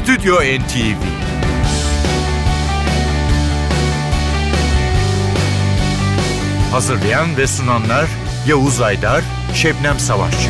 Stüdyo NTV. Hazırlayan ve sunanlar Yavuz Aydar, Şebnem Savaşçı.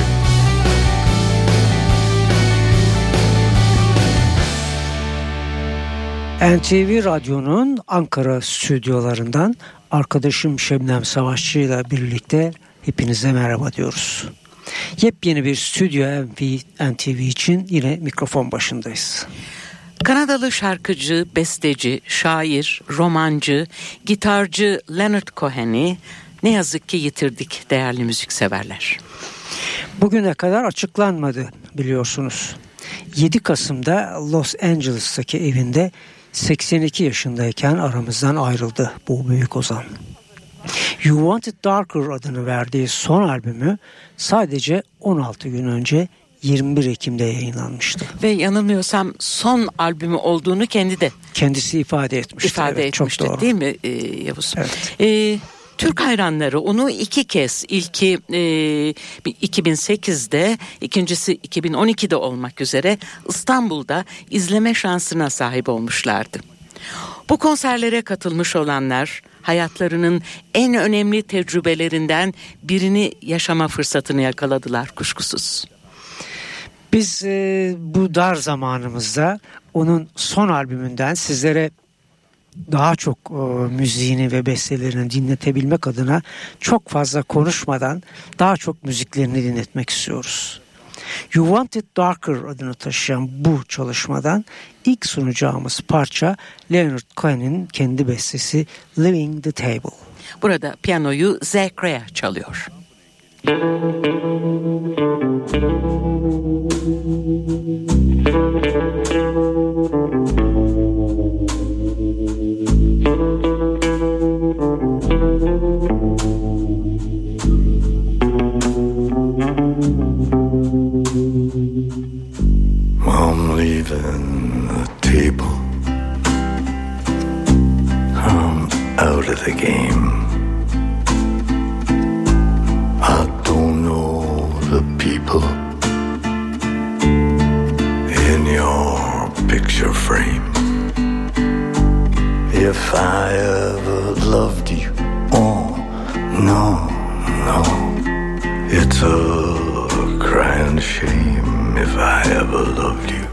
NTV Radyo'nun Ankara stüdyolarından arkadaşım Şebnem Savaşçı ile birlikte hepinize merhaba diyoruz. Yepyeni bir Stüdyo NTV için yine mikrofon başındayız. Kanadalı şarkıcı, besteci, şair, romancı, gitarcı Leonard Cohen'i ne yazık ki yitirdik değerli müzikseverler. Bugüne kadar açıklanmadı biliyorsunuz. 7 Kasım'da Los Angeles'taki evinde 82 yaşındayken aramızdan ayrıldı bu büyük ozan. You Want It Darker adını verdiği son albümü sadece 16 gün önce 21 Ekim'de yayınlanmıştı. Ve yanılmıyorsam son albümü olduğunu kendisi ifade etmişti. Evet, çok doğru. Değil mi Yavuz? Evet. Türk hayranları onu 2 kez, ilki 2008'de, ikincisi 2012'de olmak üzere İstanbul'da izleme şansına sahip olmuşlardı. Bu konserlere katılmış olanlar hayatlarının en önemli tecrübelerinden birini yaşama fırsatını yakaladılar kuşkusuz. Biz bu dar zamanımızda onun son albümünden sizlere daha çok müziğini ve bestelerini dinletebilmek adına çok fazla konuşmadan daha çok müziklerini dinletmek istiyoruz. You Want It Darker adını taşıyan bu çalışmadan ilk sunacağımız parça Leonard Cohen'in kendi bestesi Leaving the Table. Burada piyanoyu Zach Rea çalıyor. I'm leaving the table. I'm out of the game. I don't know the people in your picture frame. If I ever loved you, oh, no, no. It's a crying shame if I ever loved you.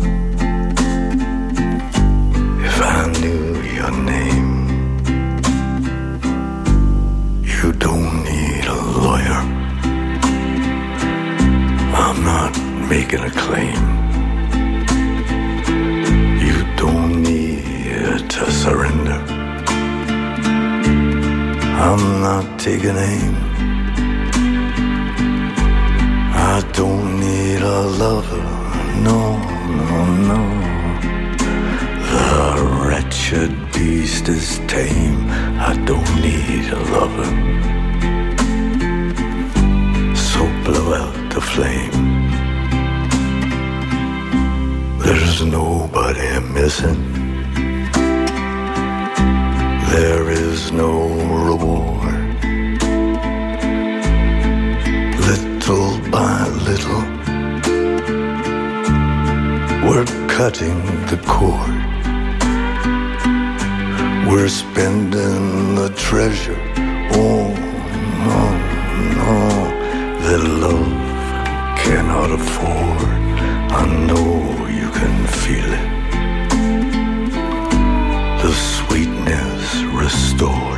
If I knew your name. You don't need a lawyer. I'm not making a claim. You don't need to surrender. I'm not taking aim. I don't need a lover, no, no, no. The wretched beast is tame. I don't need a lover. So blow out the flame. There's nobody missing. There is no reward. Little by little, we're cutting the cord. We're spending the treasure. Oh, no, no, that love cannot afford. I know you can feel it. The sweetness restored.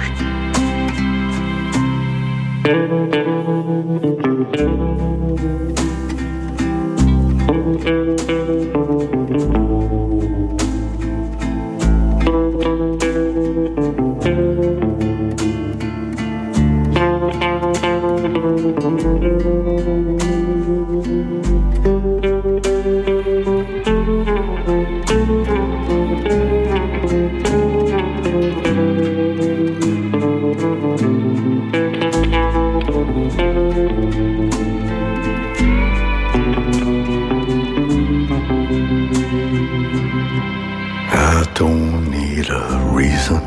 I don't need a reason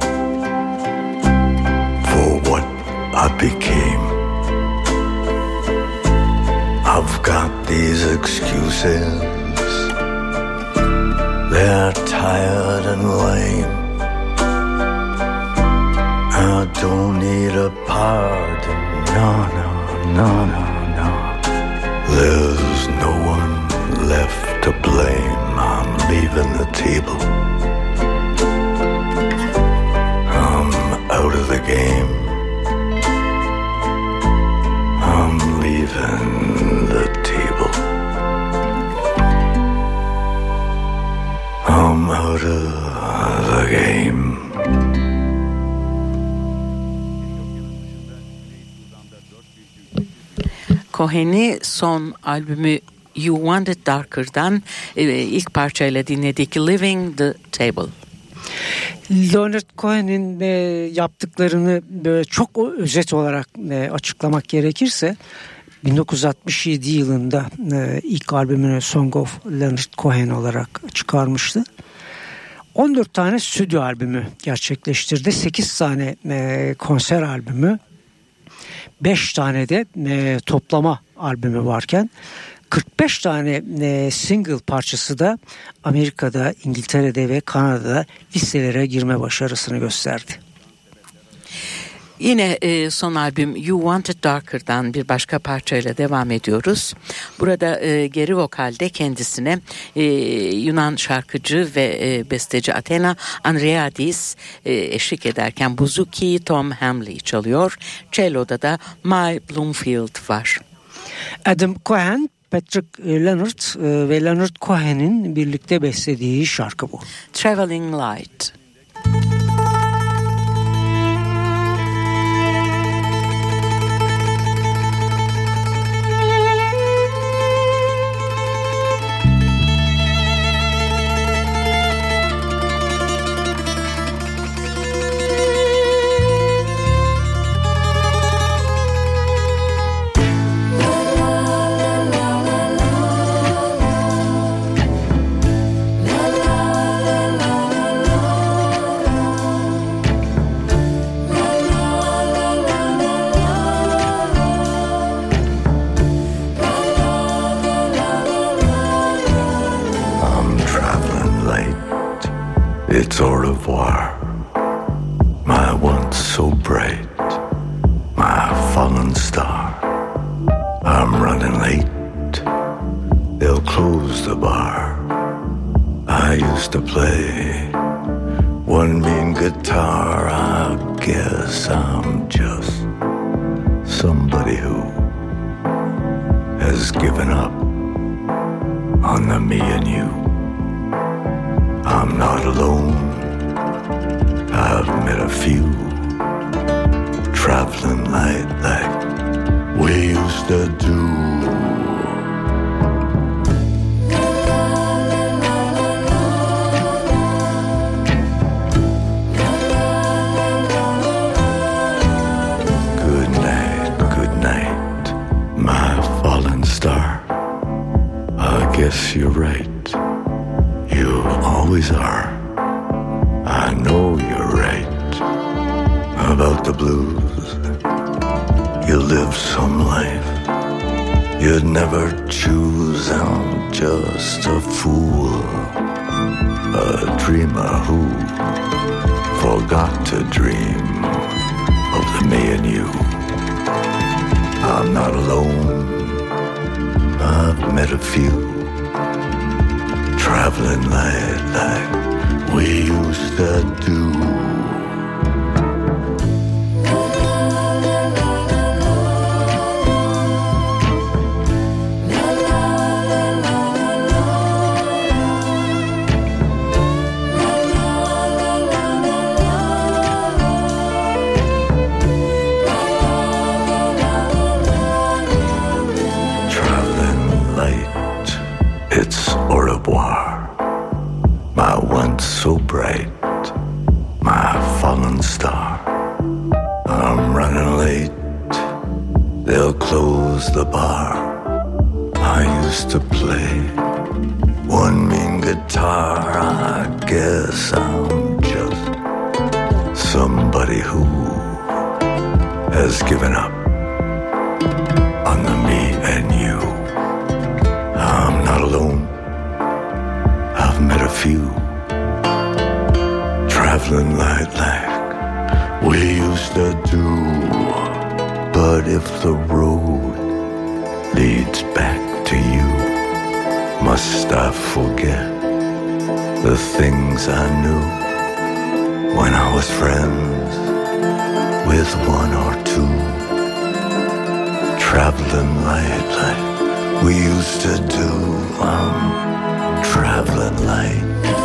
for what I became. I've got these excuses They're tired and lame. I don't need a pardon. No, no, no, no, no. There's no one left to blame. I'm leaving the table. I'm out of the game. I'm leaving the table. I'm out of the game. Cohen'i son albümü You Want It Darker'dan ilk parçayla dinledik, Living the Table. Leonard Cohen'in yaptıklarını böyle çok özet olarak açıklamak gerekirse 1967 yılında ilk albümünü Song of Leonard Cohen olarak çıkarmıştı. 14 tane stüdyo albümü gerçekleştirdi. 8 tane konser albümü, 5 tane de toplama albümü varken 45 tane single parçası da Amerika'da, İngiltere'de ve Kanada'da listelere girme başarısını gösterdi. Yine son albüm You Want It Darker'dan bir başka parçayla devam ediyoruz. Burada geri vokalde kendisine Yunan şarkıcı ve besteci Athena Andreadis eşlik ederken bouzouki Tom Hamley çalıyor. Cello'da da My Bloomfield var. Adam Cohen, Patrick Leonard ve Leonard Cohen'in birlikte beslediği şarkı bu. Traveling Light. It's au revoir, my once so bright, my fallen star. I'm running late, they'll close the bar. I used to play one mean guitar. I guess I'm just somebody who has given up on the me and you. I'm not alone, I've met a few traveling light like we used to do. Good night, my fallen star. I guess you're right. You always are. I know you're right about the blues. You live some life you'd never choose. I'm just a fool, a dreamer who forgot to dream of the me and you. I'm not alone, I've met a few traveling light like we used to do. Traveling light, it's au revoir. My once so bright, my fallen star. I'm running late, they'll close the bar. I used to play one mean guitar. I guess I'm just somebody who has given up on the me and you. I'm not alone, I've met a few few, traveling like we used to do. But if the road leads back to you, must I forget the things I knew when I was friends with one or two, traveling like we used to do. I'm traveling like.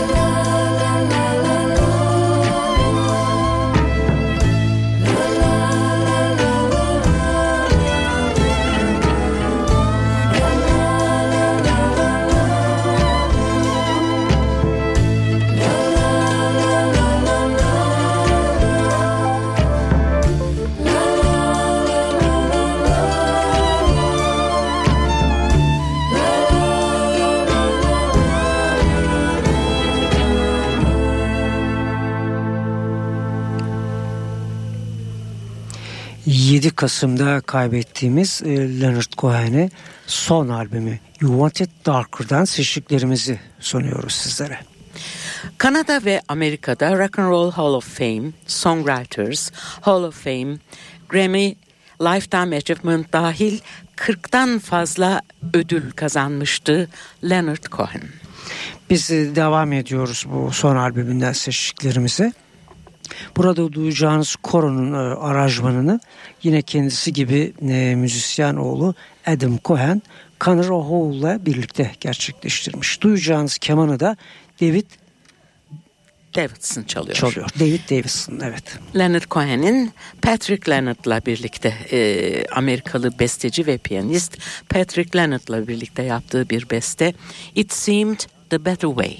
Kasım'da kaybettiğimiz Leonard Cohen'e son albümü You Want It Darker'dan seçtiklerimizi sunuyoruz sizlere. Kanada ve Amerika'da Rock and Roll Hall of Fame, Songwriters Hall of Fame, Grammy, Lifetime Achievement dahil 40'tan fazla ödül kazanmıştı Leonard Cohen. Biz devam ediyoruz bu son albümünden seçtiklerimize. Burada duyacağınız koronun aranjmanını yine kendisi gibi müzisyen oğlu Adam Cohen, Conor O'Hall'la birlikte gerçekleştirmiş. Duyacağınız kemanı da David Davidson çalıyor. David Davidson, evet. Leonard Cohen'in Patrick Leonard'la birlikte Amerikalı besteci ve piyanist Patrick Leonard'la birlikte yaptığı bir beste It Seemed the Better Way.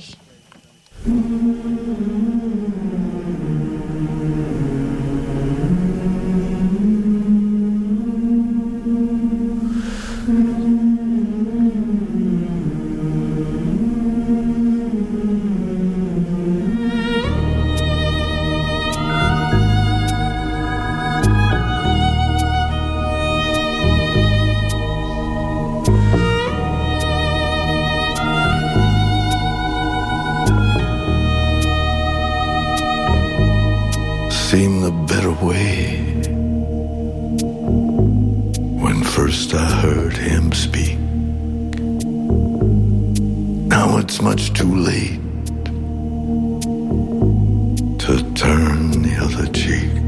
Seemed the better way when first I heard him speak. Now it's much too late to turn the other cheek.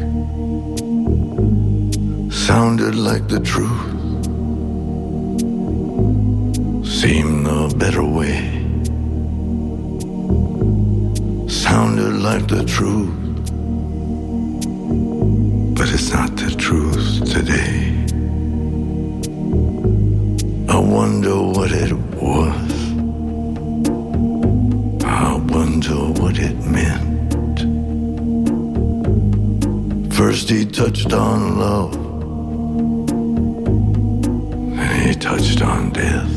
Sounded like the truth, seemed the better way. Sounded like the truth, but it's not the truth today. I wonder what it was. I wonder what it meant. First he touched on love, then he touched on death.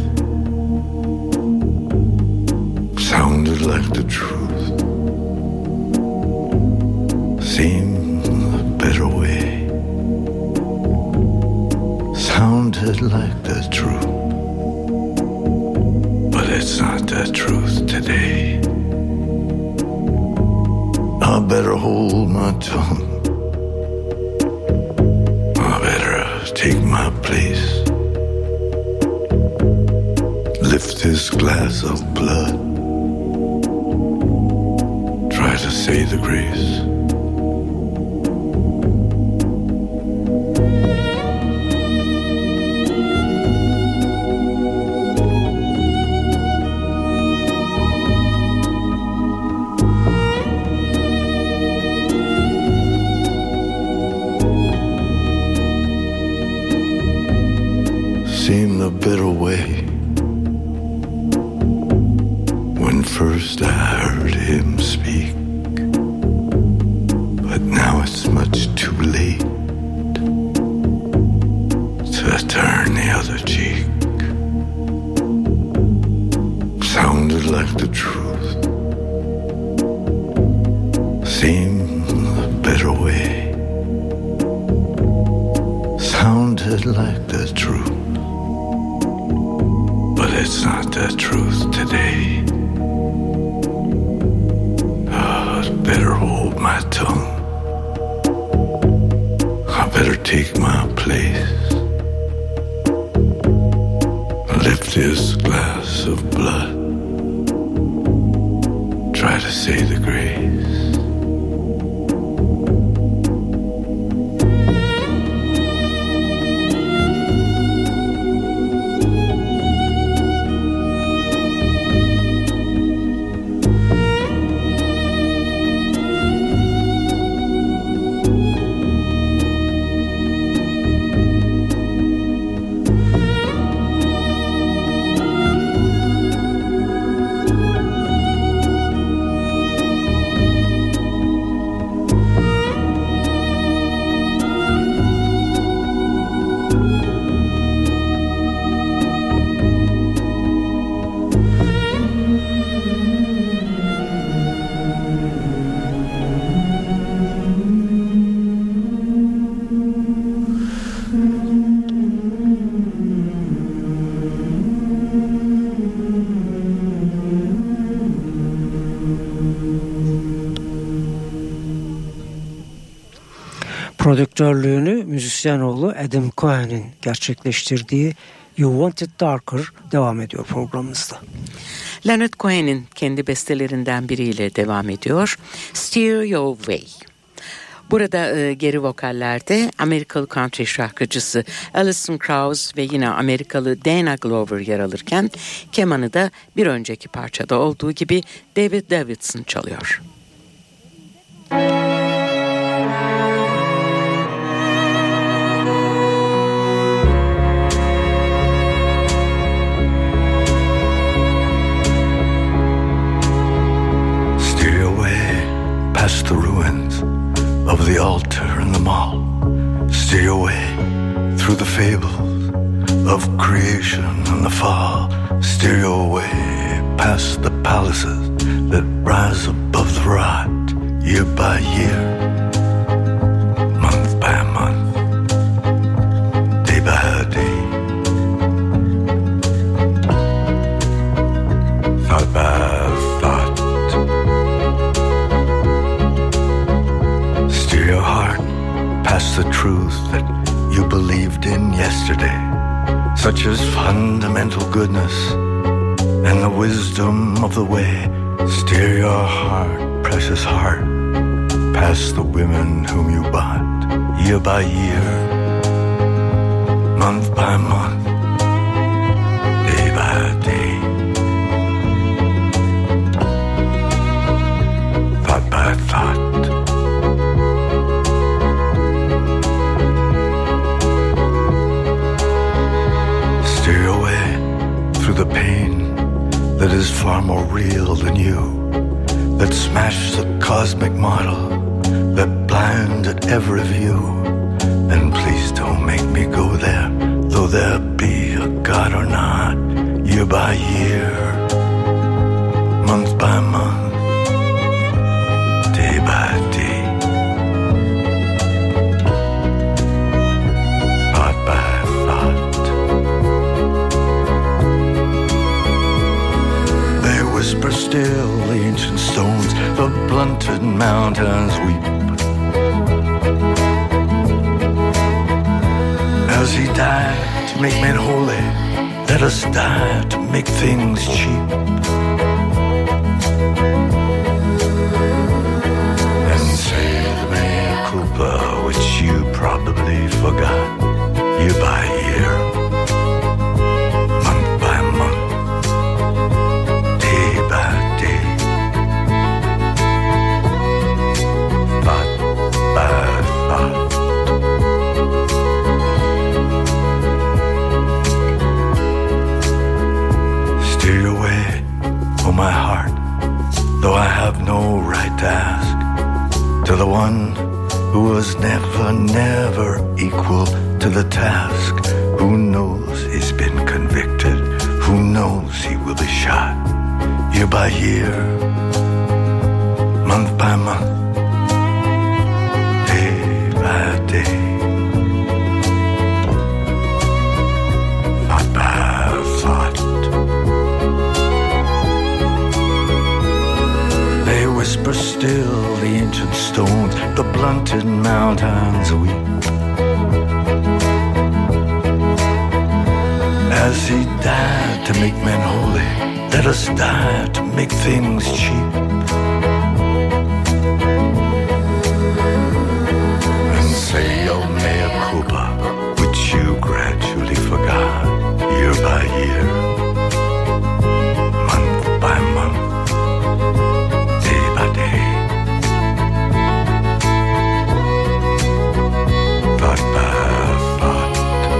Sounded like the truth, seemed the better way. Sounded like the truth, but it's not the truth today. I better hold my tongue, I better take my place, lift this glass of blood, try to say the grace. Seemed the better way when first I heard him speak, but now it's much too late to turn the other cheek. Sounded like the truth, seemed the better way. Sounded like the truth, but it's not the truth today. my tongue. I better take my place. Lift this glass of blood. Try to say the grace. Prodüktörlüğünü müzisyen oğlu Adam Cohen'in gerçekleştirdiği You Want It Darker devam ediyor programımızda. Leonard Cohen'in kendi bestelerinden biriyle devam ediyor. Steer Your Way. Burada geri vokallerde Amerikalı country şarkıcısı Alison Krauss ve yine Amerikalı Dana Glover yer alırken kemanı da bir önceki parçada olduğu gibi David Davidson çalıyor. Past the ruins of the altar and the mall. Steer your way through the fables of creation and the fall. Steer your way past the palaces that rise above the rot. Year by year, month by month, day by day, thought by thought. Your heart past the truth that you believed in yesterday, such as fundamental goodness and the wisdom of the way. Steer your heart, precious heart, past the women whom you bought, year by year, month by month, day by day, thought by thought. Steer your way through the pain that is far more real than you, that smashed the cosmic model, that blinded every view. And please don't make me go there, though there be a God or not, year by year, month by month, day by day, thought by thought. Whisper still the ancient stones, the blunted mountains weep. As he died to make men holy, let us die to make things cheap. And say the mea culpa, which you probably forgot, year by year, month by month, my heart, though I have no right to ask, to the one who was never, never equal to the task, who knows he's been convicted, who knows he will be shot, year by year, month by month, day by day, thought by thought. whisper still the ancient stones, the blunted mountains weep. As he died to make men holy, let us die to make things cheap. And say your mea culpa, which you gradually forgot, year by year, month by month, day by day, thought by thought.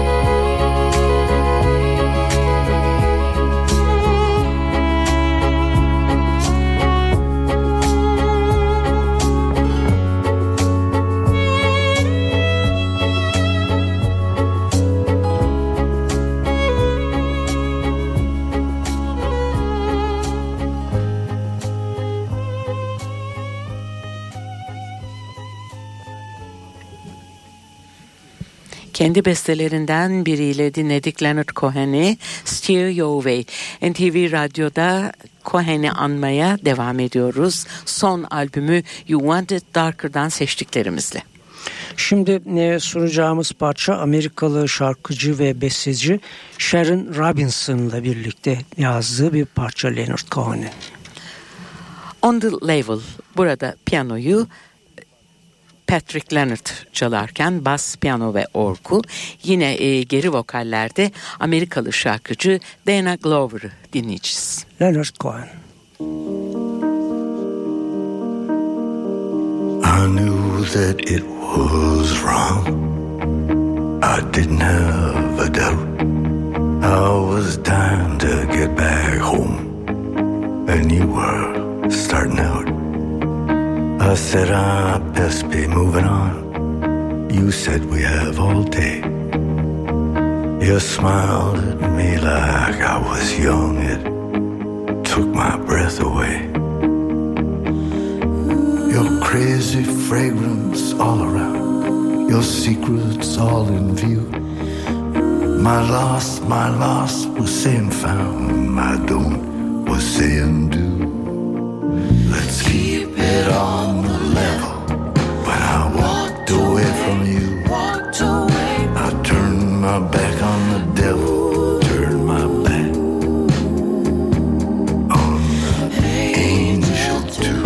Kendi bestelerinden biriyle dinledik Leonard Cohen'i, Steer Your Way. NTV Radyo'da Cohen'i anmaya devam ediyoruz. Son albümü You Want It Darker'dan seçtiklerimizle. Şimdi sunacağımız parça Amerikalı şarkıcı ve besteci Sharon Robinson'la birlikte yazdığı bir parça Leonard Cohen'in. On the Level, burada piyanoyu Patrick Leonard çalarken bas, piyano ve orgu, yine geri vokallerde Amerikalı şarkıcı Dana Glover'ı dinleyeceğiz. Leonard Cohen. I knew that it was wrong. I didn't have a doubt. I was dying to get back home, and you were starting out. I said I best be moving on. You said we have all day. You smiled at me like I was young. It took my breath away. Your crazy fragrance all around, your secrets all in view. My lost was saying found. My don't was saying do. Let's keep it on the level. When I walked away from you, I turned my back on the devil, turned my back on the angel too.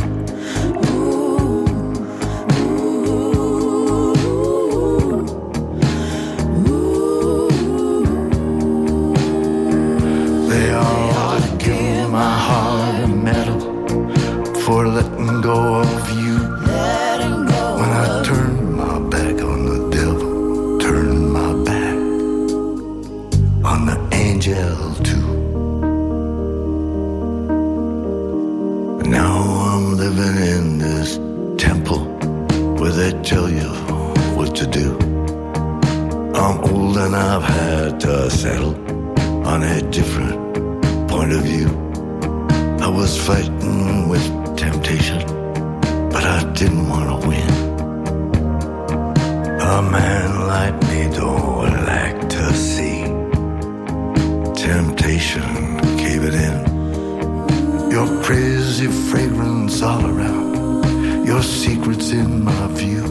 They all give my heart a medal for letting go of you. When I turned my back on the devil, turned my back on the angel too. Now I'm living in this temple where they tell you what to do. I'm old and I've had to settle on a different point of view. I was fighting with temptation, but I didn't want to win. A man like me don't like to see temptation caving in. Your crazy fragrance all around, your secrets in my view.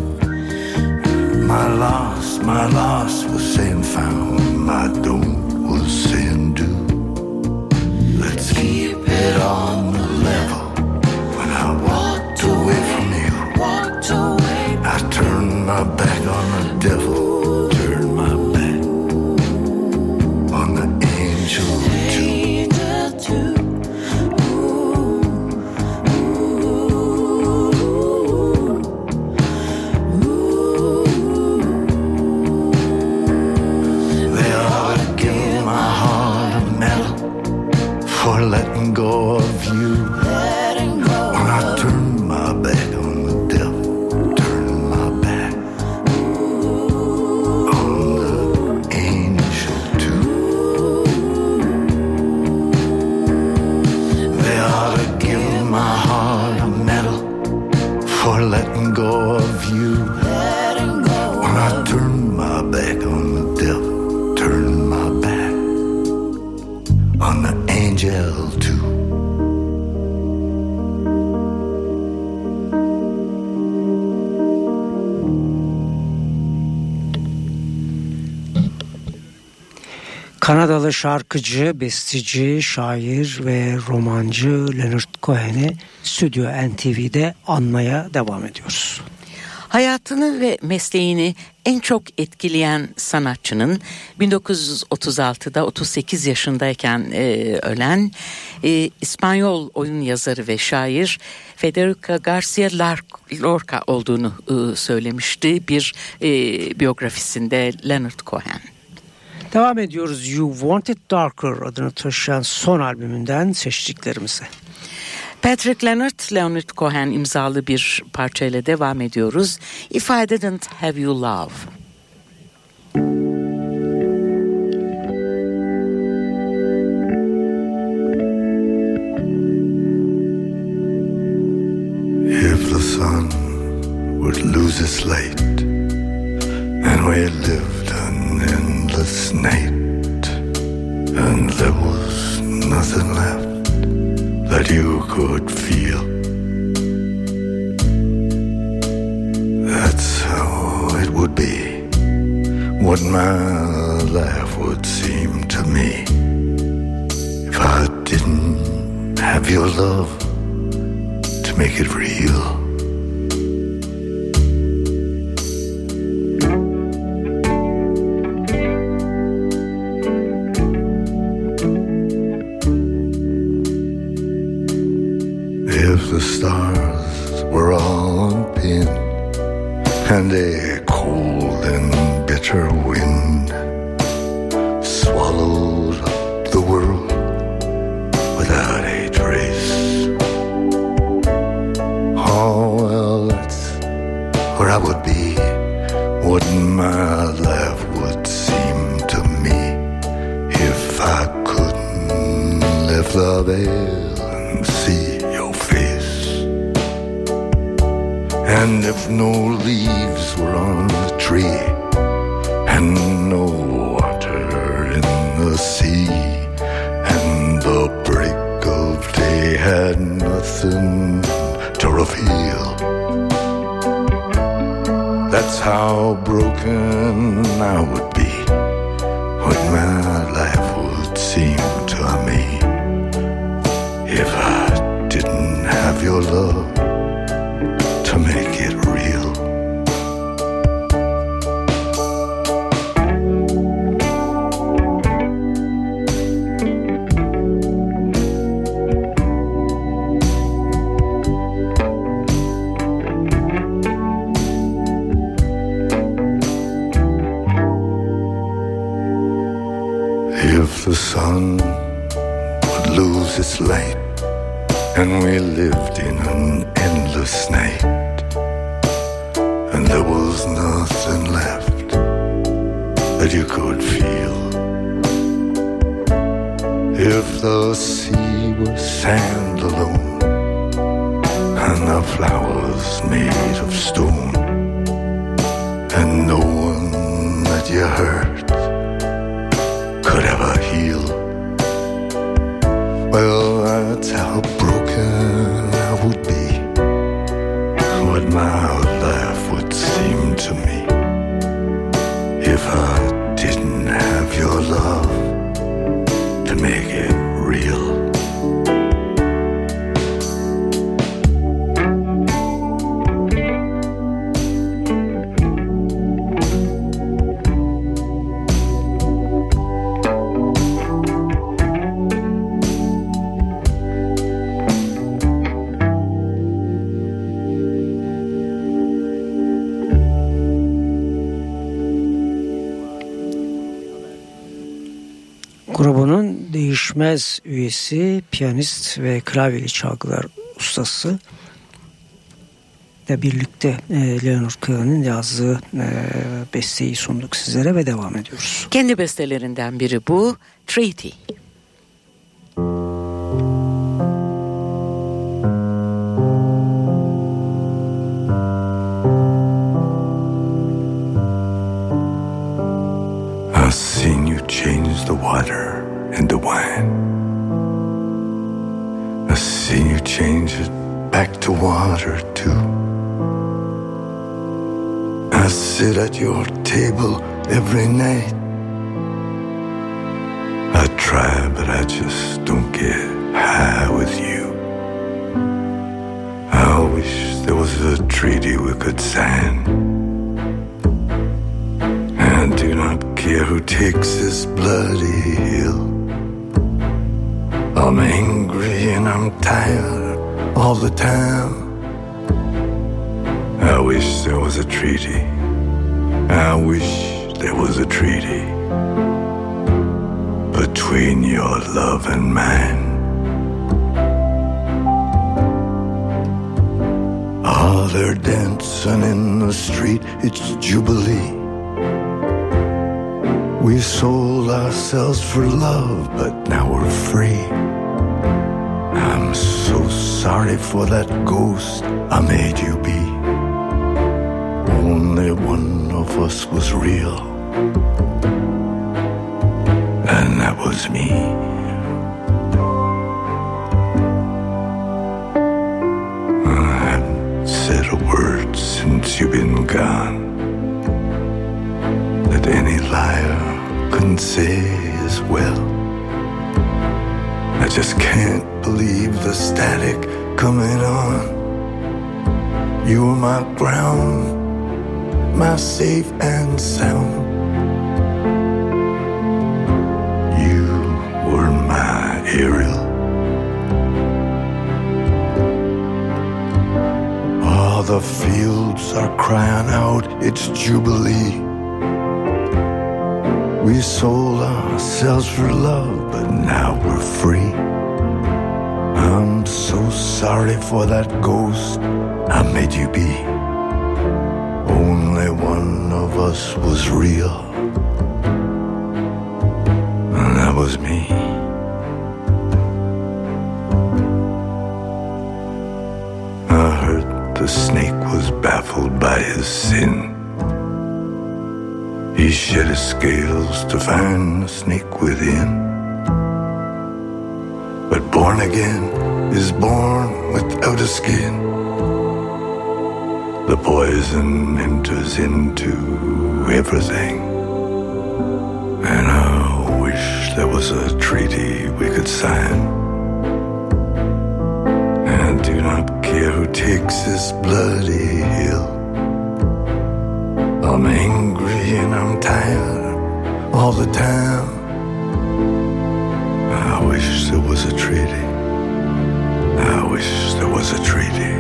My loss was saying found, my don't was saying do. Let's keep it on the level. When I walked away from you, I turned my back on the devil, turned my back on the angel too. They ought to give my heart a medal for letting go of you. When I turned my back on the devil, turned my back on the angel too. They ought to give my heart a medal for letting go of you. When I turned my back on the devil, turned my back on the angel too. Kanadalı şarkıcı, besteci, şair ve romancı Leonard Cohen'i Stüdyo NTV'de anmaya devam ediyoruz. Hayatını ve mesleğini en çok etkileyen sanatçının 1936'da 38 yaşındayken ölen İspanyol oyun yazarı ve şair Federico García Lorca olduğunu söylemişti bir biyografisinde Leonard Cohen. Devam ediyoruz. You Want It Darker adını taşıyan son albümünden seçtiklerimize. Patrick Leonard Cohen imzalı bir parçayla devam ediyoruz. If I Didn't Have You Love. If the sun would lose its light and we lived an endless night and there was nothing left that you could feel, that's how it would be, what my life would seem to me. If I didn't have your love to make it real. If the stars were all on pin and a cold and bitter wind swallowed up the world without a trace, oh well, that's where I would be, what my life would seem to me, if I couldn't lift the veil and see your face, and if no leaves were on the tree and no water in the sea and the break of day had nothing to reveal, that's how broken I would be, what my life would seem to me, if I didn't have your love to make it real. If the sun would lose its light and we lived in an endless night and there was nothing left that you could feel, if the sea was sand alone and the flowers made of stone and no one that you hurt could ever heal, well, that's how broken I would be, what my life would seem to me, if I didn't have your love to make it real. Grubunun değişmez üyesi, piyanist ve klavyeli çalgılar ustası ile birlikte Leonard Cohen'in yazdığı besteyi sunduk sizlere ve devam ediyoruz. Kendi bestelerinden biri bu, Treaty. I've seen you change the water into wine. I've seen you change it back to water too. I sit at your table every night I try, but I just don't get high with you. I wish there was a treaty we could sign. I do not care who takes this bloody hill. I'm angry and I'm tired all the time. I wish there was a treaty. I wish there was a treaty between your love and mine. Ah, they're dancing in the street, it's Jubilee. We sold ourselves for love, but now we're free. I'm so sorry for that ghost I made you be. Only one of us was real, and that was me. I haven't said a word since you've been gone that any liar couldn't say as well. I just can't believe the static coming on. You were my ground, my safe and sound. You were my Ariel. All the fields are crying out, it's Jubilee. We sold ourselves for love, but now we're free. I'm so sorry for that ghost I made you be. Only one of us was real, and that was me. I heard the snake was baffled by his sin. He shed his scales to find the snake within. But born again is born without a skin. The poison enters into everything. And I wish there was a treaty we could sign. And I do not care who takes this bloody hill. I'm angry and I'm tired all the time. I wish there was a treaty. I wish there was a treaty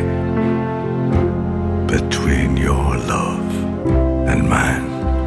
between your love and mine.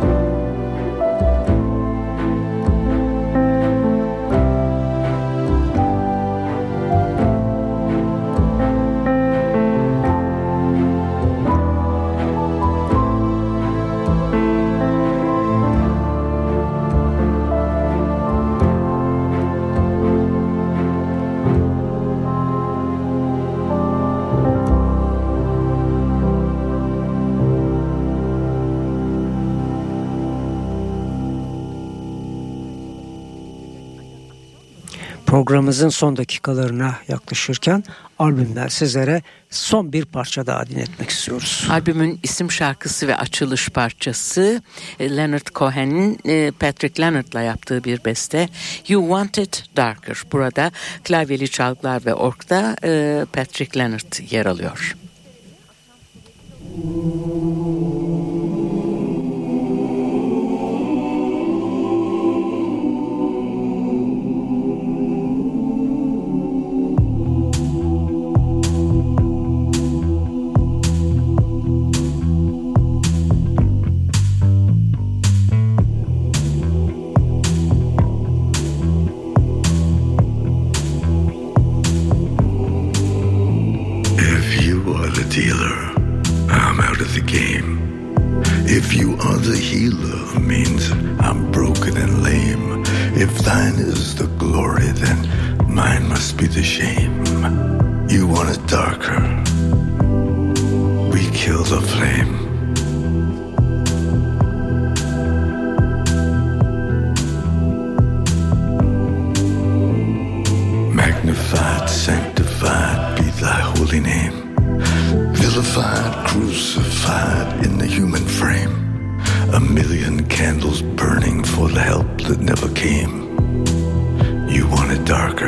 Programımızın son dakikalarına yaklaşırken albümden sizlere son bir parça daha dinletmek istiyoruz. Albümün isim şarkısı ve açılış parçası Leonard Cohen'in Patrick Leonard'la yaptığı bir beste You Want It Darker. Burada klavyeli çalgılar ve orgda Patrick Leonard yer alıyor. Dealer, I'm out of the game. If you are the healer, means I'm broken and lame. If thine is the glory, then mine must be the shame. You want it darker, we kill the flame. Magnified, sanctified be thy holy name. Vilified, crucified in the human frame. A million candles burning for the help that never came. You want it darker.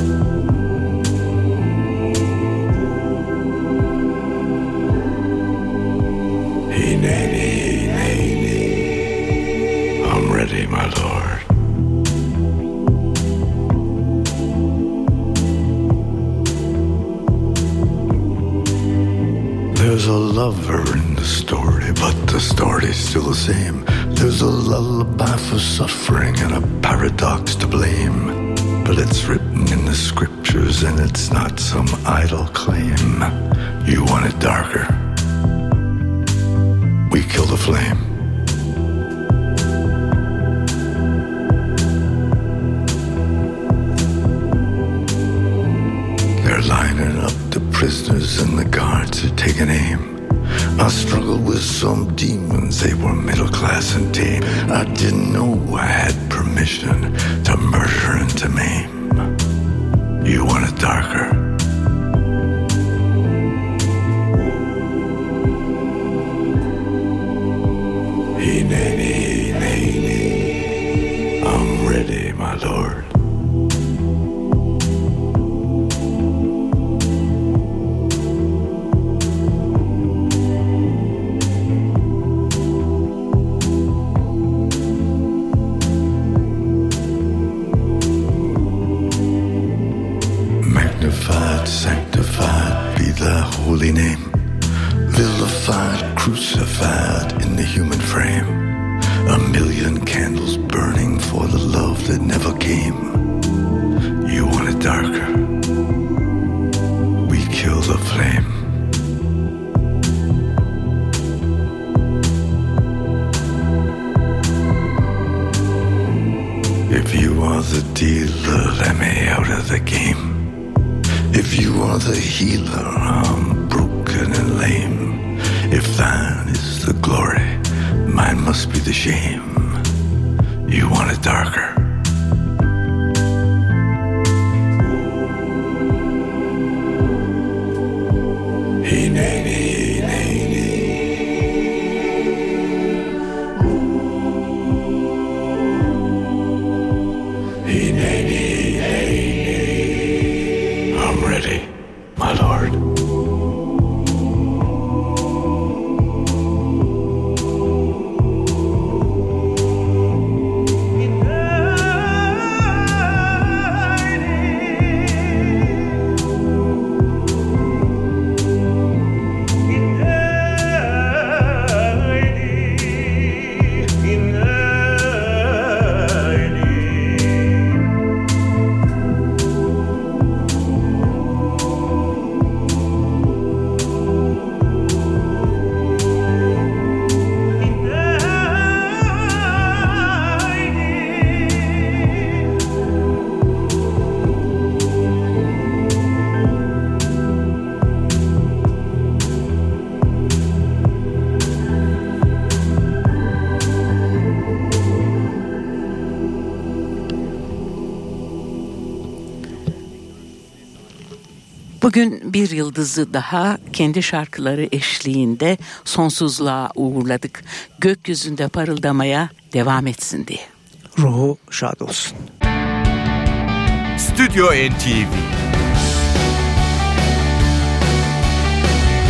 Hey, nay, nay, I'm ready, my lord. There's a lover in the story, but the story's still the same. There's a lullaby for suffering and a paradox to blame. But it's written in the scriptures and it's not some idle claim. You want it darker. We kill the flame. They're lining up the prisoners and the guards are taking aim. I struggled with some demons, they were middle class and tame. I didn't know I had permission to murder and to maim. You want it darker. Hey, nay, nay, I'm ready, my lord. Magnified, sanctified be thy holy name. Vilified, crucified in the human frame. A million candles burning for the love that never came. You want it darker. We kill the flame. If you are the dealer, let me out of the game. If you are the healer, I'm broken and lame. If thine is the glory, mine must be the shame. You want it darker. Hey, nay, nay, nay, nay. Hey, nay, nay, nay, nay. I'm ready, my lord. Bugün bir yıldızı daha kendi şarkıları eşliğinde sonsuzluğa uğurladık. Gökyüzünde parıldamaya devam etsin diye. Ruhu şad olsun. Stüdyo NTV.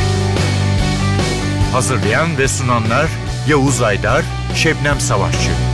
Hazırlayan ve sunanlar Yavuz Aydar, Şebnem Savaşçı.